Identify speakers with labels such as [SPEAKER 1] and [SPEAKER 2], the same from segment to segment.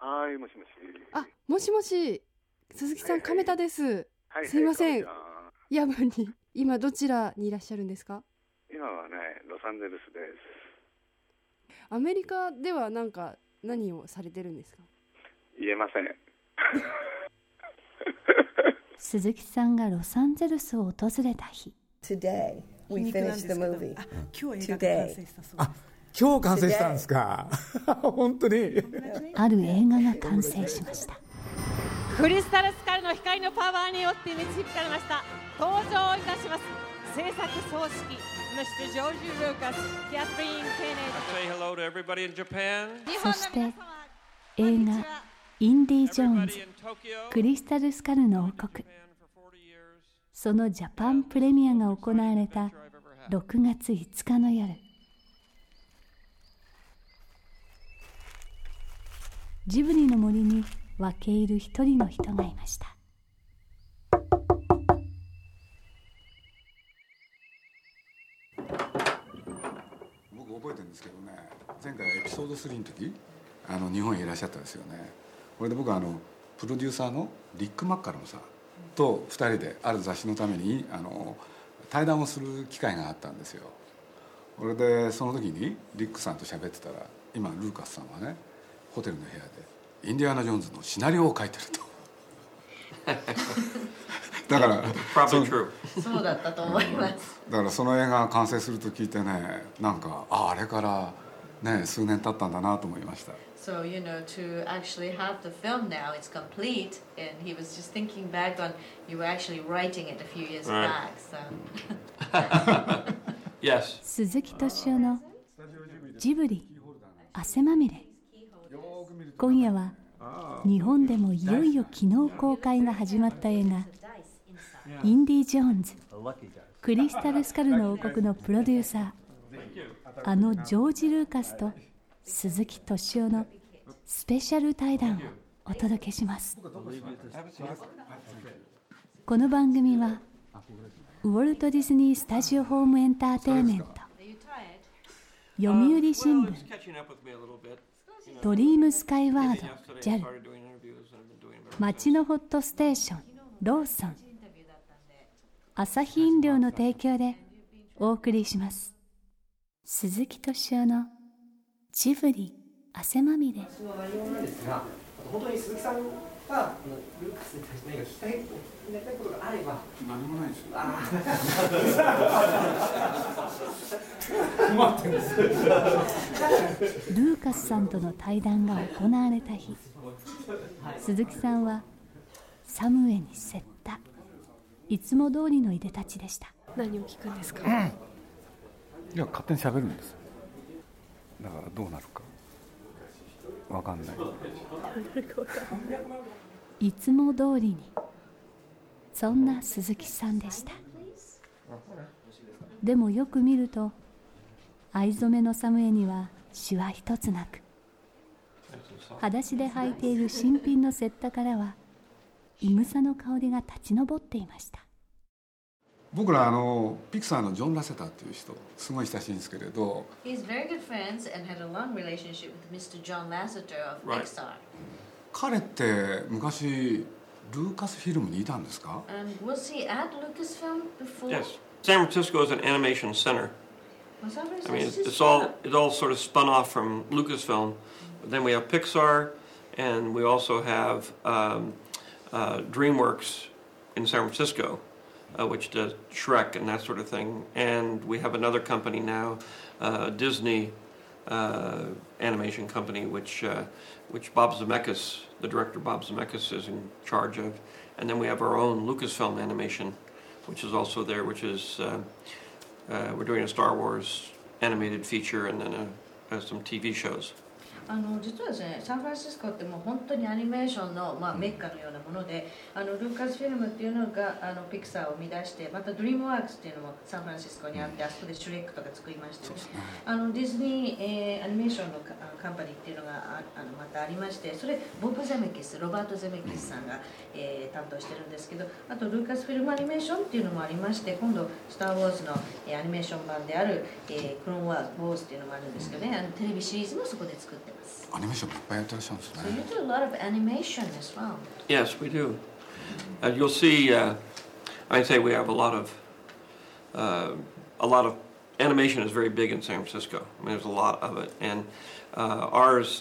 [SPEAKER 1] はい、もしもし。
[SPEAKER 2] あ、もしもし、鈴木さん、亀田です。
[SPEAKER 1] はい、
[SPEAKER 2] すいません。
[SPEAKER 1] はい、
[SPEAKER 2] 夜分に。今どちらにいらっしゃるんですか？
[SPEAKER 1] 今はね、ロサンゼルスです。
[SPEAKER 2] アメリカでは何をされてるんですか？
[SPEAKER 1] 言えません。
[SPEAKER 3] 鈴木さんがロサンゼルスを訪れた日。
[SPEAKER 4] Today we finished the movie.
[SPEAKER 5] 今日映画が完成したそうです。
[SPEAKER 6] 今日完成したんですか？本当に。
[SPEAKER 3] ある映画が完成しました。
[SPEAKER 7] クリスタルスカルの光のパワーによって導かれました。登場いたします。制作総指揮 Mr. George Lucas, Kathleen Kennedy。
[SPEAKER 8] Say hello to everybody in Japan。
[SPEAKER 3] そして映画インディ・ジョーンズクリスタルスカルの王国、そのジャパンプレミアが行われた6月5日の夜、ジブリの森に分け入る一人の人がいました。
[SPEAKER 6] 僕覚えてるんですけどね、前回エピソード3の時日本へいらっしゃったんですよね。これで僕プロデューサーのリック・マッカロンさんと2人である雑誌のために対談をする機会があったんですよ。これでその時にリックさんと喋ってたら、今ルーカスさんはねホテルの部屋でインディアナ・ジョーンズのシナリオを書いてると。だから
[SPEAKER 4] そうだったと思います。
[SPEAKER 6] だからその映画が完成すると聞いてね、あれからね数年経ったんだなと思いました。
[SPEAKER 4] So, to actually have the film now, it's complete, and he was just thinking back on, you were actually writing it a few years back, so.
[SPEAKER 8] Yes.
[SPEAKER 3] 鈴木敏夫のジブリ汗まみれ。今夜は日本でもいよいよ昨日公開が始まった映画インディ・ジョーンズクリスタルスカルの王国のプロデューサー、ジョージ・ルーカスと鈴木敏夫のスペシャル対談をお届けします。この番組はウォルト・ディズニー・スタジオ・ホーム・エンターテインメント、読売新聞、ドリームスカイワード JAL、 街のホットステーションローソン、アサヒ飲料の提供でお送りします。鈴木敏夫のジブリ汗まみれ。
[SPEAKER 9] 私の内容なんですが、本当に鈴木さんがルーカスに対して何か聞きたいことがあれば。
[SPEAKER 6] 何もないですよ。
[SPEAKER 9] 困ってるんですよ。
[SPEAKER 3] ルーカスさんとの対談が行われた日、鈴木さんはサムエに接ったいつも通りのいでたちでした。
[SPEAKER 2] 何を聞くんですか？
[SPEAKER 6] いや、勝手に喋るんです。だからどうなるか分かんない。
[SPEAKER 3] いつも通りに、そんな鈴木さんでした。でもよく見ると藍染めのサムエにはシワ一つなく、裸足で履いている新品のセッタからはいぐさの香りが立ち上っていました。
[SPEAKER 6] 僕らピクサーのジョン・ラセターっていう人すごい親しいんですけれど、
[SPEAKER 4] He's very good friends and had a long relationship with Mr. John Lasseter of Pixar.
[SPEAKER 6] 彼って昔ルーカスフィルムにいたんですか？
[SPEAKER 4] And was he at Lucasfilm before?
[SPEAKER 8] Yes. San Francisco is an animation center.
[SPEAKER 4] Was that
[SPEAKER 8] I mean, it all sort of spun off from Lucasfilm. But then we have Pixar, and we also have DreamWorks in San Francisco, which does Shrek and that sort of thing. And we have another company now, Disney animation company, which Bob Zemeckis, the director Bob Zemeckis, is in charge of. And then we have our own Lucasfilm animation, which is also there, which is we're doing a Star Wars animated feature and then some TV shows.
[SPEAKER 4] 実はですね、サンフランシスコってもう本当にアニメーションの、メッカのようなもので、ルーカスフィルムっていうのがピクサーを生み出して、またドリームワークスっていうのもサンフランシスコにあって、あそこでシュレックとか作りまして、ディズニー、アニメーションのカンパニーっていうのがまたありまして、それボブ・ゼメキス、ロバート・ゼメキスさんが、担当してるんですけど、あとルーカスフィルムアニメーションっていうのもありまして、今度スター・ウォーズの、アニメーション版である、クローン・ウォーズっていうのもあるんですけどね、テレビシリーズもそこで作ってます。 ます。
[SPEAKER 6] アニメーションもいっぱいやってらっしゃるんです
[SPEAKER 4] So you
[SPEAKER 6] ね。
[SPEAKER 4] do a lot of animation as well.
[SPEAKER 8] Yes, we do. You'll see. I'd say we have a lot of animation is very big in San Francisco. I mean, there's a lot of it, and ours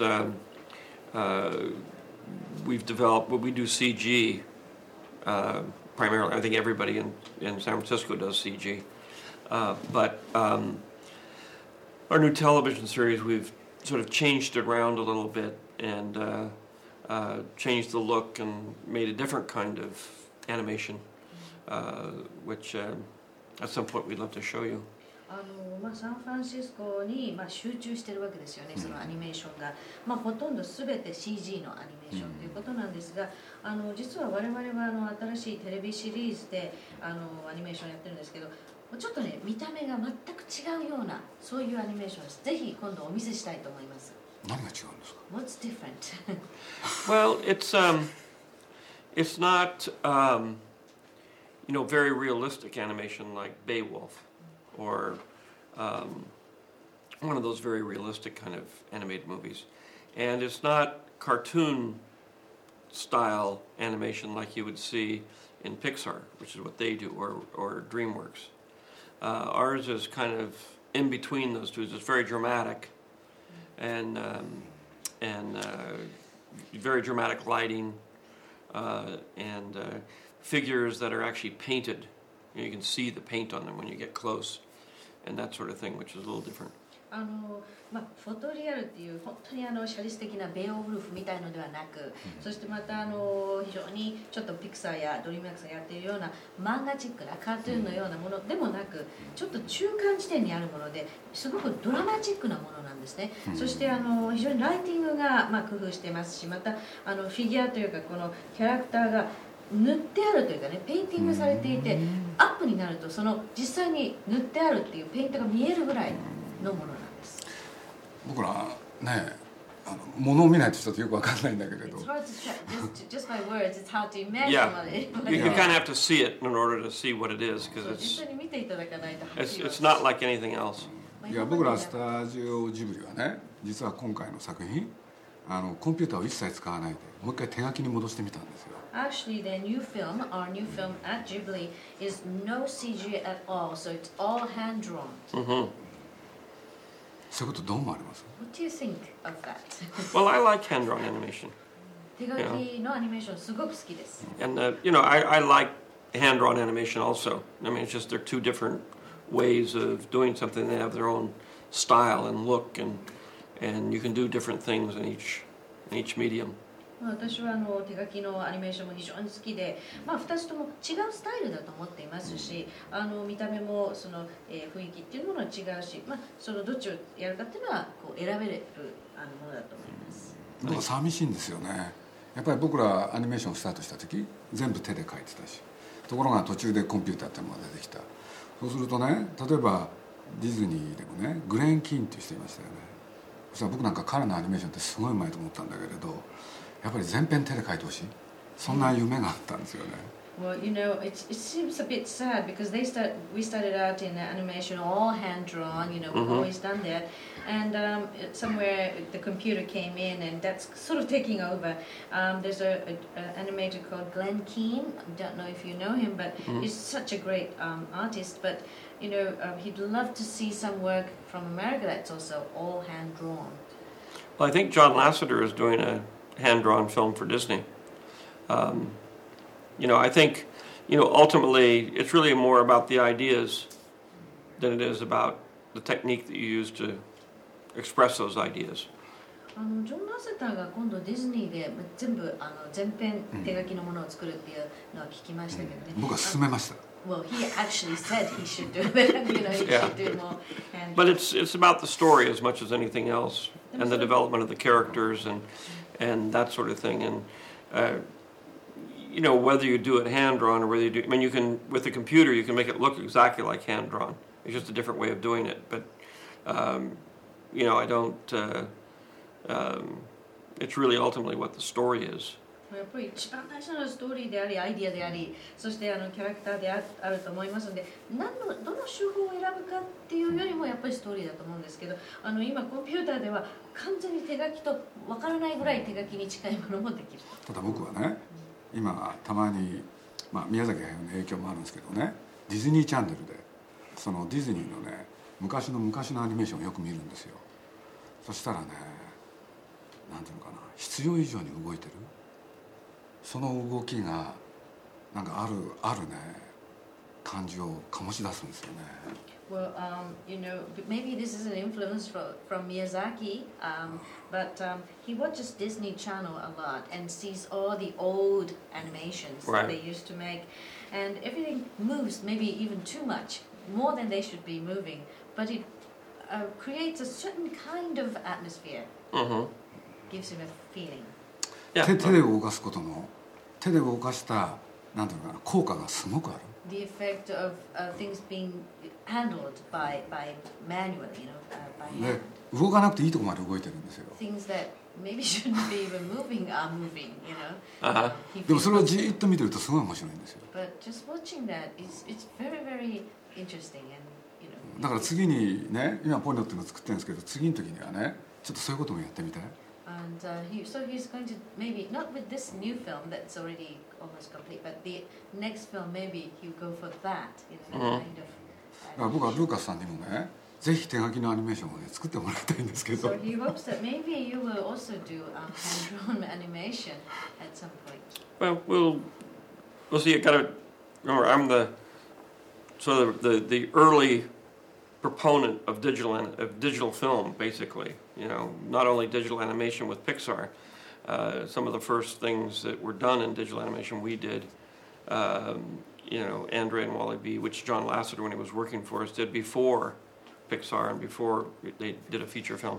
[SPEAKER 8] we've developed. Well, we do CG primarily. I think everybody in San Francisco does CG, but our new television series we've sort of changed it around a little bit and changed the look and made a different kind of animation, which at some point we'd love to show you.
[SPEAKER 4] サンフランシスコに集中してるわけですよね、そのアニメーションが、ほとんどすべて CG のアニメーションということなんですが、実は我々は新しいテレビシリーズでアニメーションやってるんですけど、ちょっとね、見た目が全く違うようなそういうアニメーションです。ぜひ今度お見せしたいと思います。
[SPEAKER 6] 何が違うんですか？
[SPEAKER 4] What's different?
[SPEAKER 8] Well, it's not very realistic animation like Beowulf or one of those very realistic kind of animated movies, and it's not cartoon style animation like you would see in Pixar, which is what they do, or DreamWorks. Ours is kind of in between those two. It's very dramatic and very dramatic lighting and figures that are actually painted. You can see the paint on them when you get close, and that sort of thing, which is a little different.
[SPEAKER 4] フォトリアルっていう本当に写実的なベオウルフみたいのではなく、そしてまた非常にちょっとピクサーやドリームワークスがやっているような漫画チックなカートゥーンのようなものでもなく、ちょっと中間地点にあるものですごくドラマチックなものなんですね。そして非常にライティングが工夫してますし、またフィギュアというかこのキャラクターが塗ってあるというかね、ペインティングされていて、アップになるとその実際に塗ってあるっていうペイントが見えるぐらいのものなんです。
[SPEAKER 6] 僕らね、物を見ないとちょっとよくわかんないんだけれど。
[SPEAKER 4] Just by words, it's hard to imagine.
[SPEAKER 8] Yeah, you kind of have to see it in order to see what it is, because it's not like anything else.
[SPEAKER 6] いや、僕らスタジオジブリはね、実は今回の作品、コンピューターを一切使わないで、もう一回手書きに戻してみたんですよ。
[SPEAKER 4] Actually, our new film at Ghibli is no CG at all, so it's all hand drawn.
[SPEAKER 8] Mm-hmm.
[SPEAKER 6] そういうことどう思われます？
[SPEAKER 4] What do you think of that?
[SPEAKER 8] Well, I like hand-drawn animation.
[SPEAKER 4] 手書きのアニメーションすごく好きです。
[SPEAKER 8] And I like hand-drawn animation also. I mean, it's just they're two different ways of doing something. They have their own style and look, and you can do different things in each medium.
[SPEAKER 4] 私は手書きのアニメーションも非常に好きで、2つとも違うスタイルだと思っていますし、見た目もその、雰囲気っていうものは違うし、そのどっちをやるかっていうのはこう選べるものだと思います。
[SPEAKER 6] なんか寂しいんですよね。やっぱり僕らアニメーションをスタートした時全部手で描いてたし、ところが途中でコンピューターっていうのが出てきた。そうするとね、例えばディズニーでもね、グレン・キーンっていう人いましたよね。そしたら僕なんか彼のアニメーションってすごいうまいと思ったんだけれど、やっぱり全編手で描いてほしい。そんな夢があったんですよね。
[SPEAKER 4] Well, it seems a bit sad because we started out in animation all hand drawn, we've always done that, and somewhere the computer came in and that's sort of taking over. There's an animator called Glenn Keane. I don't know if you know him, but he's such a great artist. But he'd love to see some work from America that's also all hand drawn.
[SPEAKER 8] Well, I think John Lasseter is doing a hand-drawn film for Disney. I think, ultimately it's really more about the ideas than it is about the technique that you use to express those ideas.
[SPEAKER 4] ジョン・ラセターが今度ディズニーで全部全編手書きのものを作るっていうのは聞きましたけどね。
[SPEAKER 6] 僕は勧めました。
[SPEAKER 4] Well, he actually said he should do it. He should do more.
[SPEAKER 8] But it's about the story as much as anything else, and the development of the characters and that sort of thing. And whether you do it hand drawn or whether you do, I mean, you can with the computer you can make it look exactly like hand drawn. It's just a different way of doing it. But I don't. It's really ultimately what the story is.
[SPEAKER 4] やっぱり一番大事なのはストーリーでありアイディアであり、そしてキャラクターであると思いますので、どの手法を選ぶかっていうよりもやっぱりストーリーだと思うんですけど、今コンピューターでは完全に手書きと分からないぐらい手書きに近いものもできる。
[SPEAKER 6] ただ僕はね、今たまに、宮崎駿の影響もあるんですけどね、ディズニーチャンネルでそのディズニーのね昔のアニメーションをよく見るんですよ。そしたらね、なんていうのかな、必要以上に動いてる、その動きがなんかあるね感じを醸し出すんですよね。
[SPEAKER 4] Well, maybe this is an influence from Miyazaki, but he watches Disney Channel a lot and sees all the old animations that they used to make, and everything moves maybe even too much, more than they should be moving, but it creates a certain kind of atmosphere, gives him a feeling.
[SPEAKER 6] 手で動かすことの、手で動かしたなんていうのかな、効果がすごくある。
[SPEAKER 4] The effect of things being handled by manually, by hand.
[SPEAKER 6] 動かなくていいところまで動いてるんですよ。
[SPEAKER 4] Things that maybe shouldn't be even moving are moving, you know.
[SPEAKER 6] でもそれをじーっと見てるとすごい面白いんですよ。
[SPEAKER 4] But just watching that, it's very, very interesting, and you know.
[SPEAKER 6] だから次にね、今ポニョっていうのを作ってるんですけど、次の時にはね、ちょっとそういうこともやってみたい。
[SPEAKER 4] And so he's going to maybe not with this new film that's already almost complete, but the next film maybe he'll go for that, you know, kind of.
[SPEAKER 6] だから僕はルーカスさんにもね、ぜひ手書きのアニメーションをね作ってもらいたいんですけど。
[SPEAKER 4] So he hopes that maybe you will also do hand-drawn animation at some point.
[SPEAKER 8] Well, we'll see. You gotta remember, I'm the early proponent of digital film, basically. You know, not only digital animation with Pixar. Some of the first things that were done in digital animation we did. You know, Andre and Wally B, which John Lasseter, when he was working for us, did before Pixar and before they did a feature film.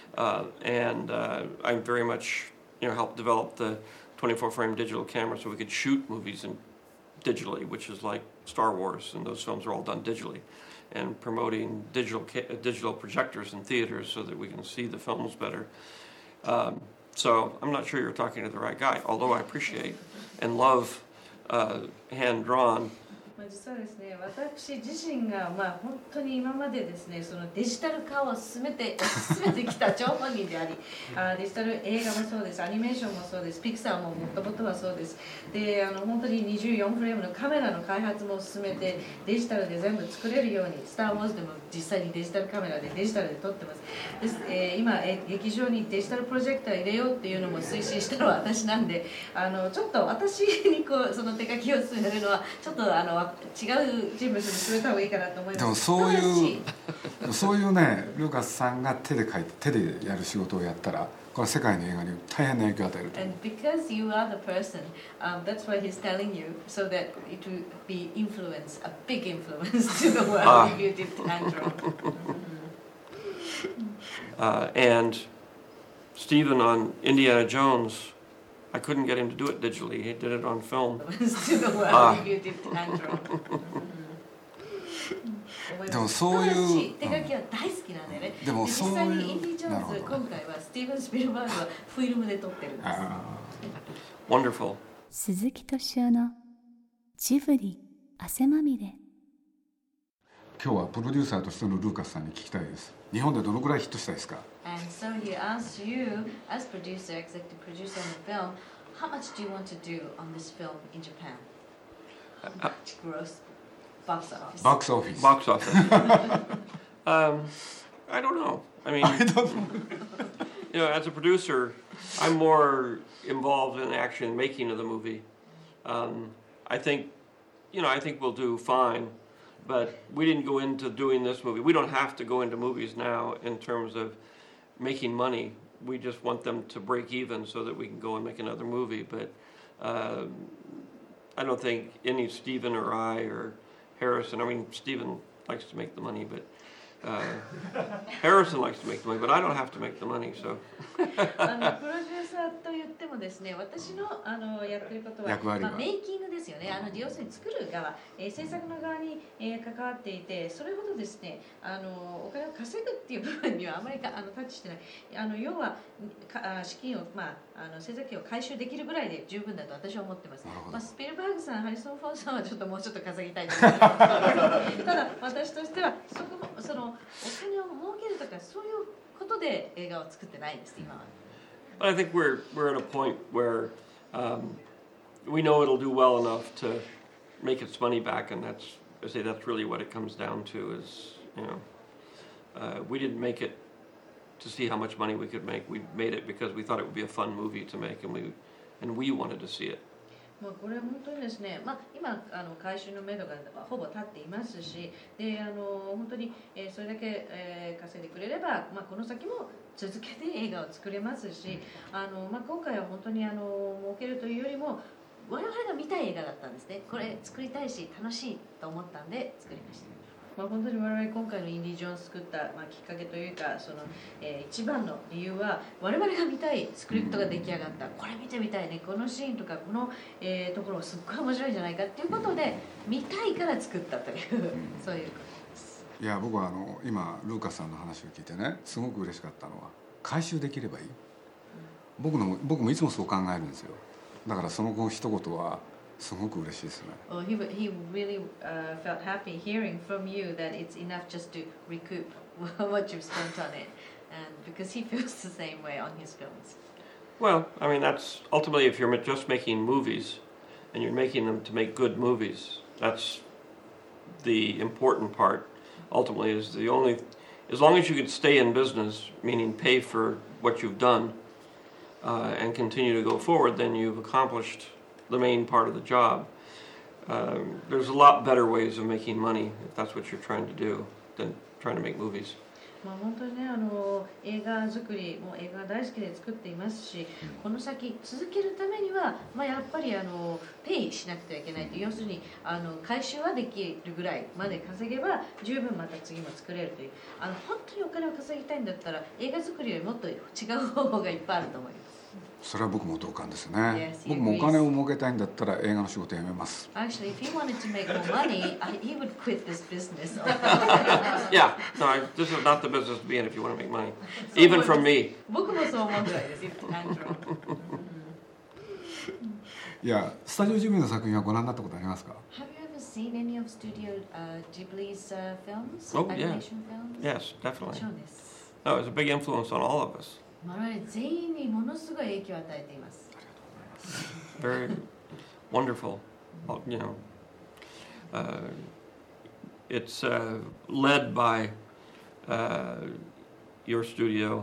[SPEAKER 8] I very much, helped develop the 24-frame digital camera so we could shoot movies digitally, which is like Star Wars, and those films are all done digitally. And promoting digital projectors in theaters so that we can see the films better. So I'm not sure you're talking to the right guy, although I appreciate and love hand-drawn.
[SPEAKER 4] 実はですね、私自身が本当に今までですね、そのデジタル化を進めてきた張本人であり、デジタル映画もそうです、アニメーションもそうです、ピクサーももともとはそうです。で、本当に24フレームのカメラの開発も進めて、デジタルで全部作れるように、スター・ウォーズでも実際にデジタルカメラでデジタルで撮ってます。です、今劇場にデジタルプロジェクター入れようっていうのも推進したのは私なんで、ちょっと私にその手書きを進めるのはちょっと違う人物に進めた方がいいかなと思います。
[SPEAKER 6] でもそういうね、ルーカスさんが手で描いて手でやる仕事をやったら、これは世界の映画に大変な影響を与えると。
[SPEAKER 4] And because you are the person, that's why he's telling you, so that it will be influence, a big influence to the world if you did hand-drawn.
[SPEAKER 8] And Stephen on Indiana Jones, I couldn't get him to do it digitally. He did it on film.
[SPEAKER 4] To the world if you did hand-drawn.
[SPEAKER 6] でもそういう
[SPEAKER 4] 手書きは大好きなんでね。
[SPEAKER 6] でも
[SPEAKER 4] 実際にインディ・ジョーンズ、今回はスティーブン・スピルバーグはフィルムで撮ってるんです。
[SPEAKER 8] Wonderful.
[SPEAKER 3] 鈴木敏夫のジブリ汗まみれ。
[SPEAKER 6] 今日はプロデューサーとしてのルーカスさんに聞きたいです。日本でどのくらいヒットしたいですか？
[SPEAKER 4] And so he asks you, as producer, executive producer on the film, how much do you want to do on this film in Japan? How much gross box office?
[SPEAKER 6] Box office.
[SPEAKER 8] Box office. I don't know. I mean, as a producer, I'm more involved in the action making of the movie. I think we'll do fine. But we didn't go into doing this movie. We don't have to go into movies now in terms of making money. We just want them to break even so that we can go and make another movie. But I don't think any Stephen or I or Harrison, I mean, Stephen likes to make the money, but Harrison likes to make the money, but I don't have to make the money, so.
[SPEAKER 4] プロデューサーと言ってもですね、私のやってることは、
[SPEAKER 6] 役割は
[SPEAKER 4] メイキングですよね。要するに作る側、制作の側に、関わっていて、それほどですね、お金を稼ぐっていう部分にはあまりタッチしてない。要は資金を、制作費を回収できるぐらいで十分だと私は思ってます。スピルバーグさん、ハリソン・フォードさんはちょっともうちょっと稼ぎたいと思います。ただ私としてはそのお金を儲けるとかそういうことで映画を作ってないです今は。
[SPEAKER 8] I think we're at a point where we know it'll do well enough to make its money back, and that's really what it comes down to. Is we didn't make it to see how much money we could make. We made it because we thought it would be a fun movie to make, and we wanted to see it.
[SPEAKER 4] これは本当にですね、今回収のめどがほぼ立っていますし、で本当に、それだけ、稼いでくれれば、この先も続けて映画を作れますし、今回は本当に儲けるというよりも我々が見たい映画だったんですね。これ作りたいし楽しいと思ったんで作りました。本当に我々今回のインディ・ジョーンズ作った、きっかけというか一番の理由は我々が見たいスクリプトが出来上がった、これ見てみたいね、このシーンとかこの、ところすっごい面白いんじゃないかっていうことで見たいから作ったというそういうことです。
[SPEAKER 6] いや僕は今ルーカスさんの話を聞いてねすごく嬉しかったのは回収できればいい、僕もいつもそう考えるんですよ。だからその一言はすごく嬉しいですね。
[SPEAKER 4] Well, he really felt happy hearing from you that it's enough just to recoup what you've spent on it, and because he feels the same way on his films.
[SPEAKER 8] Well, I mean that's ultimately if you're just making movies, and you're making them to make good movies, that's the important part. Ultimately, is the only as long as you can stay in business, meaning pay for what you've done, and continue to go forward, then you've accomplished the main part of the job. There's a lot better ways of making money if that's what you're trying to do than trying to make movies.
[SPEAKER 4] 本当にね映画作りも映画大好きで作っていますし、この先続けるためには、やっぱりペイしなくてはいけないという、要するに回収はできるぐらいまで稼げば十分また次も作れるという、本当にお金を稼ぎたいんだったら映画作りよりもっと違う方法がいっぱいあると思います。
[SPEAKER 6] それは僕も同感ですね。僕もお金を儲けたいんだったら映画の仕事やめます。
[SPEAKER 4] Actually, if he wanted to make more money, he would quit this business.
[SPEAKER 8] Yeah, no, this is not the business to be in if you want to make money, even from me.
[SPEAKER 4] 僕もそう思うぐらいです。
[SPEAKER 6] いや、スタジオジブリの作品はご覧になったことありますか？
[SPEAKER 4] Have you ever seen any of Studio Ghibli's films?
[SPEAKER 8] Oh, yeah.
[SPEAKER 4] Animation films?
[SPEAKER 8] Yes, definitely.
[SPEAKER 4] もちろんです。
[SPEAKER 8] No, it was a big influence on all of us.
[SPEAKER 4] 我々全員にものすごい影響を与えています。
[SPEAKER 8] Very wonderful, it's led by your studio,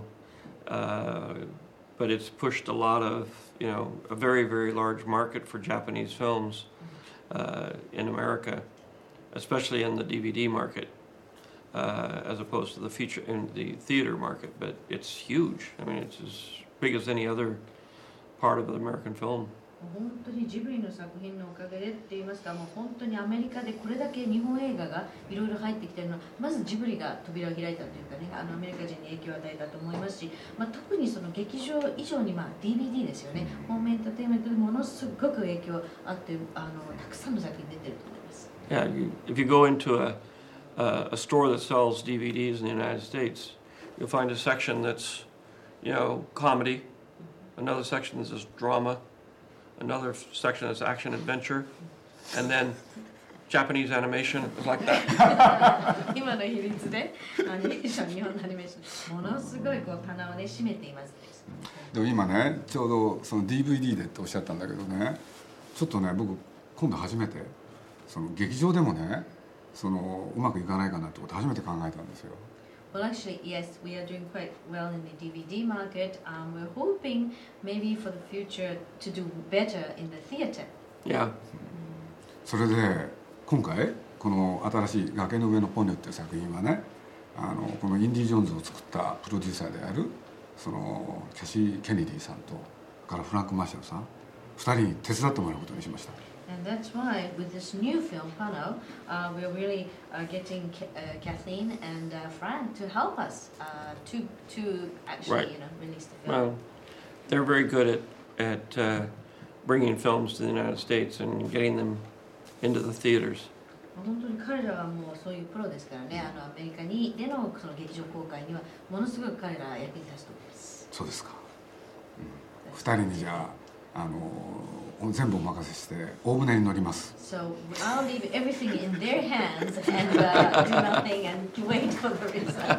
[SPEAKER 8] but it's pushed a lot of, a very, very large market for Japanese films in America, especially in the DVD market. As opposed to the feature in the theater market, but it's huge. I mean, it's as big as any other part of the American film.
[SPEAKER 4] 本当にジブリの作品のおかげでって言いますか、もう本当にアメリカでこれだけ日本映画がいろいろ入ってきているのは、まずジブリが扉を開いたというかね、アメリカ人に影響を与えたと思いますし、特にその劇場以上にDVD ですよね、ホームエンターテインメントでものすごく影響あって、たくさんの作品出てると思います。
[SPEAKER 8] Yeah, if you go into a store that sells DVDs in the United States, you'll find a section that's, comedy, another section that's drama, another section that's action adventure, and then Japanese animation is like that.
[SPEAKER 4] 今の比率でアニメーション、日本のアニメーション、ものすごい棚をね占めています。
[SPEAKER 6] でも今ね、ちょうどその DVD でっておっしゃったんだけどね、ちょっとね、僕今度初めてその劇場でもね。うまくいかないかなってこと初めて考えたんですよ。
[SPEAKER 4] Well, actually, yes, we are doing quite well in the DVD market. We're hoping maybe for the future to do better in the theater.
[SPEAKER 8] Yeah.
[SPEAKER 6] それで今回この新しい崖の上のポニョっていう作品はね、このインディ・ジョーンズを作ったプロデューサーであるキャシー・ケネディさんとからフランク・マーシャルさん2人に手伝ってもらうことにしました。
[SPEAKER 4] And that's why with this new film, Pano, we're really getting Kathleen and Frank to help us to actually,
[SPEAKER 8] right.
[SPEAKER 4] Release the film.
[SPEAKER 8] they're very good at bringing films to the United States and getting them into the theaters.
[SPEAKER 4] 本当に彼らはもうそういうプロですからね、アメリカにでのその劇場公開にはものすごく彼らは役に立つと思います。
[SPEAKER 6] そうですか。2人にじゃあ全部お任せして大船に乗ります。
[SPEAKER 4] So I'll leave everything in their hands and do nothing and wait for the result.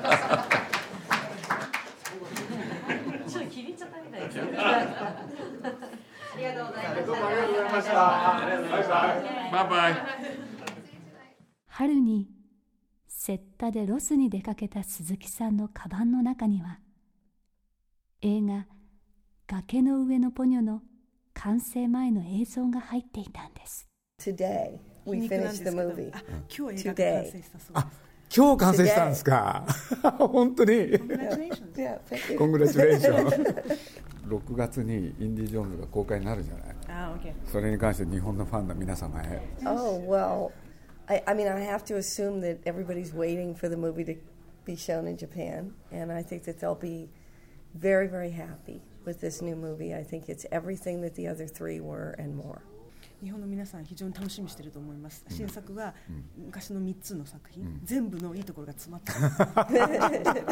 [SPEAKER 4] ちょっと気に入っちゃったみたいですね。ありがとうございました。どうもありがとうございました。
[SPEAKER 8] バイバイ。
[SPEAKER 3] 春にセッタでロスに出かけた鈴木さんのカバンの中には、映画崖の上のポニョの完成前の映像が入っていたんです。
[SPEAKER 5] Today we finished the movie.
[SPEAKER 2] 今日映画が完成したそうです。
[SPEAKER 6] 今日完成したんですか。本当に。Congratulations。6月にインディ・ジョーンズが公開になるじゃない。それに関して日本のファンの皆様へ。
[SPEAKER 5] Oh well, I mean I have to assume that everybody's waiting for the movie to be shown in Japan, and I think that they'll be very, very happy with this new movie. I think it's everything that the other three were and more.
[SPEAKER 2] 日本の皆さん非常に楽しみにしていると思います。新作は昔の3つの作品、全部のいいところが詰まってます。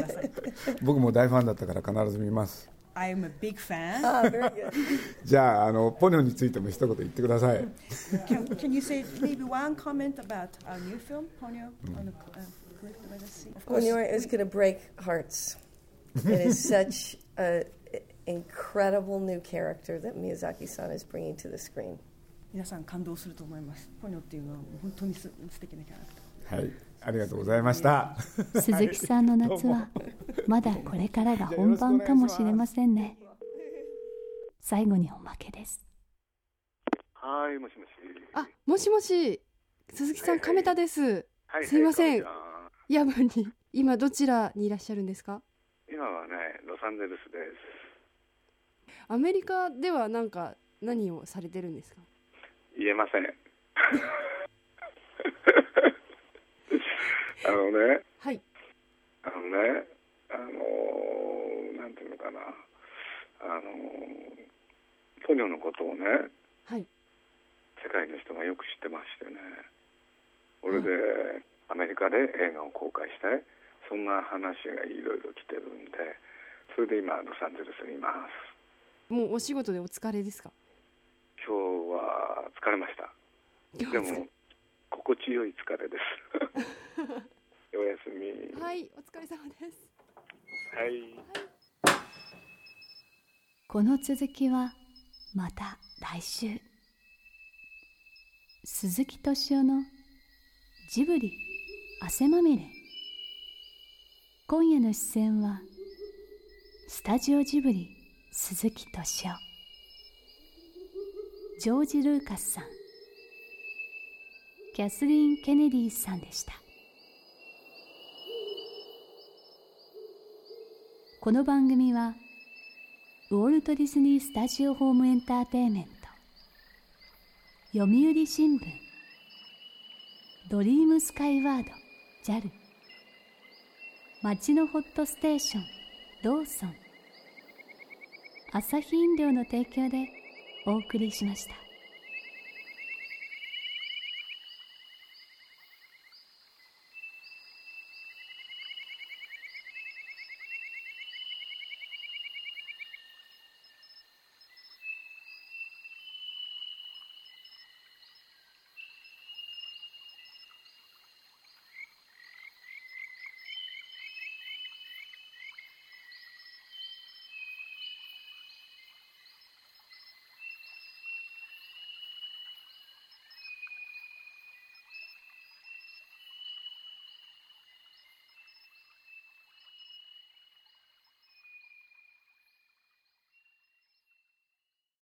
[SPEAKER 6] 僕も大ファンだったから必ず見ます。
[SPEAKER 2] I'm a big fan.
[SPEAKER 6] じゃあポニョについても一言言ってください。
[SPEAKER 2] Can you say maybe one comment about our new film, Ponyo, on the collected by the sea?
[SPEAKER 5] Ponyo is going to break hearts. It is such an incredible new character that Miyazaki-san is bringing to the screen.
[SPEAKER 2] 皆さん感動すると思います。ポニョっていうのは本当に素敵なキャラクター。
[SPEAKER 6] はい、ありがとうございました。
[SPEAKER 3] 鈴木さんの夏はまだこれからが本番かもしれませんね。最後におまけです。
[SPEAKER 1] はい、もしもし。
[SPEAKER 2] あ、もしもし。鈴木さん、亀田です。すいません。夜分に今どちらにいらっしゃるんですか？
[SPEAKER 1] 今はね、ロサンゼルスです。
[SPEAKER 2] アメリカでは何をされてるんですか？
[SPEAKER 1] 言えません。はい。なんていうのかな、ポニョのことをね、
[SPEAKER 2] はい、
[SPEAKER 1] 世界の人がよく知ってましてね、これでアメリカで映画を公開したい、そんな話がいろいろ来てるんで、それで今ロサンゼルスにいます。
[SPEAKER 2] もうお仕事でお疲れですか？
[SPEAKER 1] 今日は疲れました。でも心地よい疲れです。おやすみ。
[SPEAKER 2] はい、お疲れ様です。
[SPEAKER 1] はい。
[SPEAKER 3] この続きはまた来週。鈴木敏夫のジブリ汗まみれ。今夜の出演はスタジオジブリ鈴木敏夫、ジョージ・ルーカスさん、キャスリーン・ケネディさんでした。この番組はウォルト・ディズニー・スタジオ・ホーム・エンターテインメント、読売新聞、ドリームスカイワード JAL、 街のホットステーションローソン、アサヒ飲料の提供でお送りしました。